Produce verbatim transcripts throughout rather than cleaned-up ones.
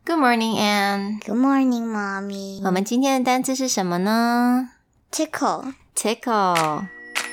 Good morning, Anne. Good morning, Mommy. 我们今天的单字是什么呢？ Tickle. Tickle.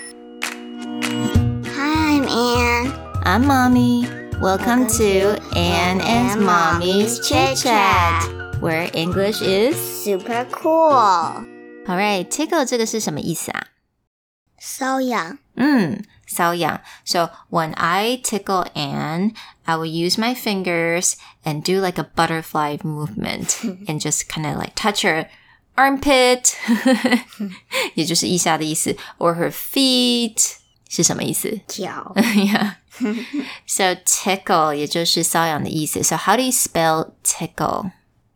Hi, I'm Anne. I'm Mommy. Welcome, Welcome to to Anne Anne and and Mommy's Mommy's Chit Chit Chat, Chat. where English is Super cool. Alright, tickle 这个是什么意思啊？ 瘙痒。 嗯，瘙痒。So when I tickle Anne, I will use my fingers and do like a butterfly movement and just kind of like touch her armpit 也就是腋下的意思 or her feet 是什么意思？ 脚。 Yeah. So tickle 也就是瘙痒的意思。So how do you spell tickle?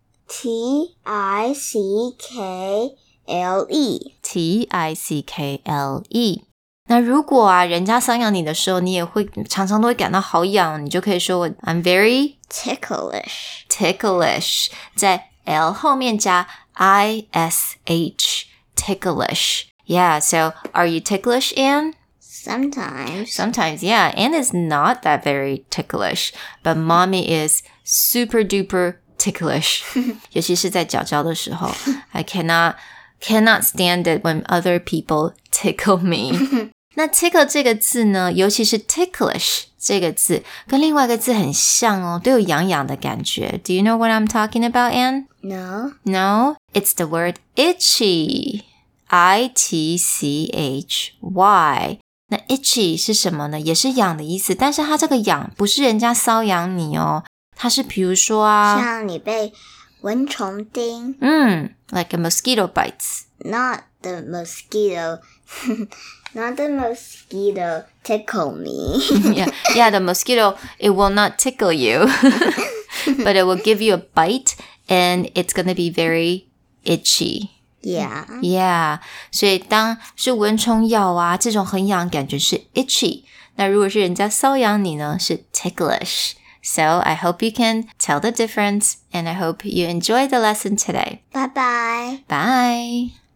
T I C K L E. T I C K L E. 那如果啊，人家瘙痒你的时候，你也会常常都会感到好痒，你就可以说 I'm very Ticklish. ticklish， 在 L 后面加 I S H, ticklish. Yeah, so are you ticklish, Anne? Sometimes. Sometimes, yeah. Anne is not that very ticklish, but Mommy is super duper ticklish. 尤其是在脚脚的时候 I cannot cannot stand it when other people tickle me. 那 tickle 这个字呢，尤其是 ticklish 这个字，跟另外一个字很像哦，都有痒痒的感觉。Do you know what I'm talking about, Anne? No. No, it's the word itchy. I T C H Y. 那 itchy 是什么呢？也是痒的意思，但是它这个痒不是人家瘙痒你哦，它是比如说啊， 像你被蚊虫叮。 嗯 like a mosquito bites. Not the mosquito. Not the mosquito tickle me. yeah, yeah, the mosquito, it will not tickle you, but it will give you a bite and it's going to be very itchy. Yeah. Yeah, 所以当是蚊虫咬啊，这种很痒感觉是 itchy. 那如果是人家瘙痒你呢，是 ticklish. So I hope you can tell the difference and I hope you enjoy the lesson today. Bye-bye. Bye.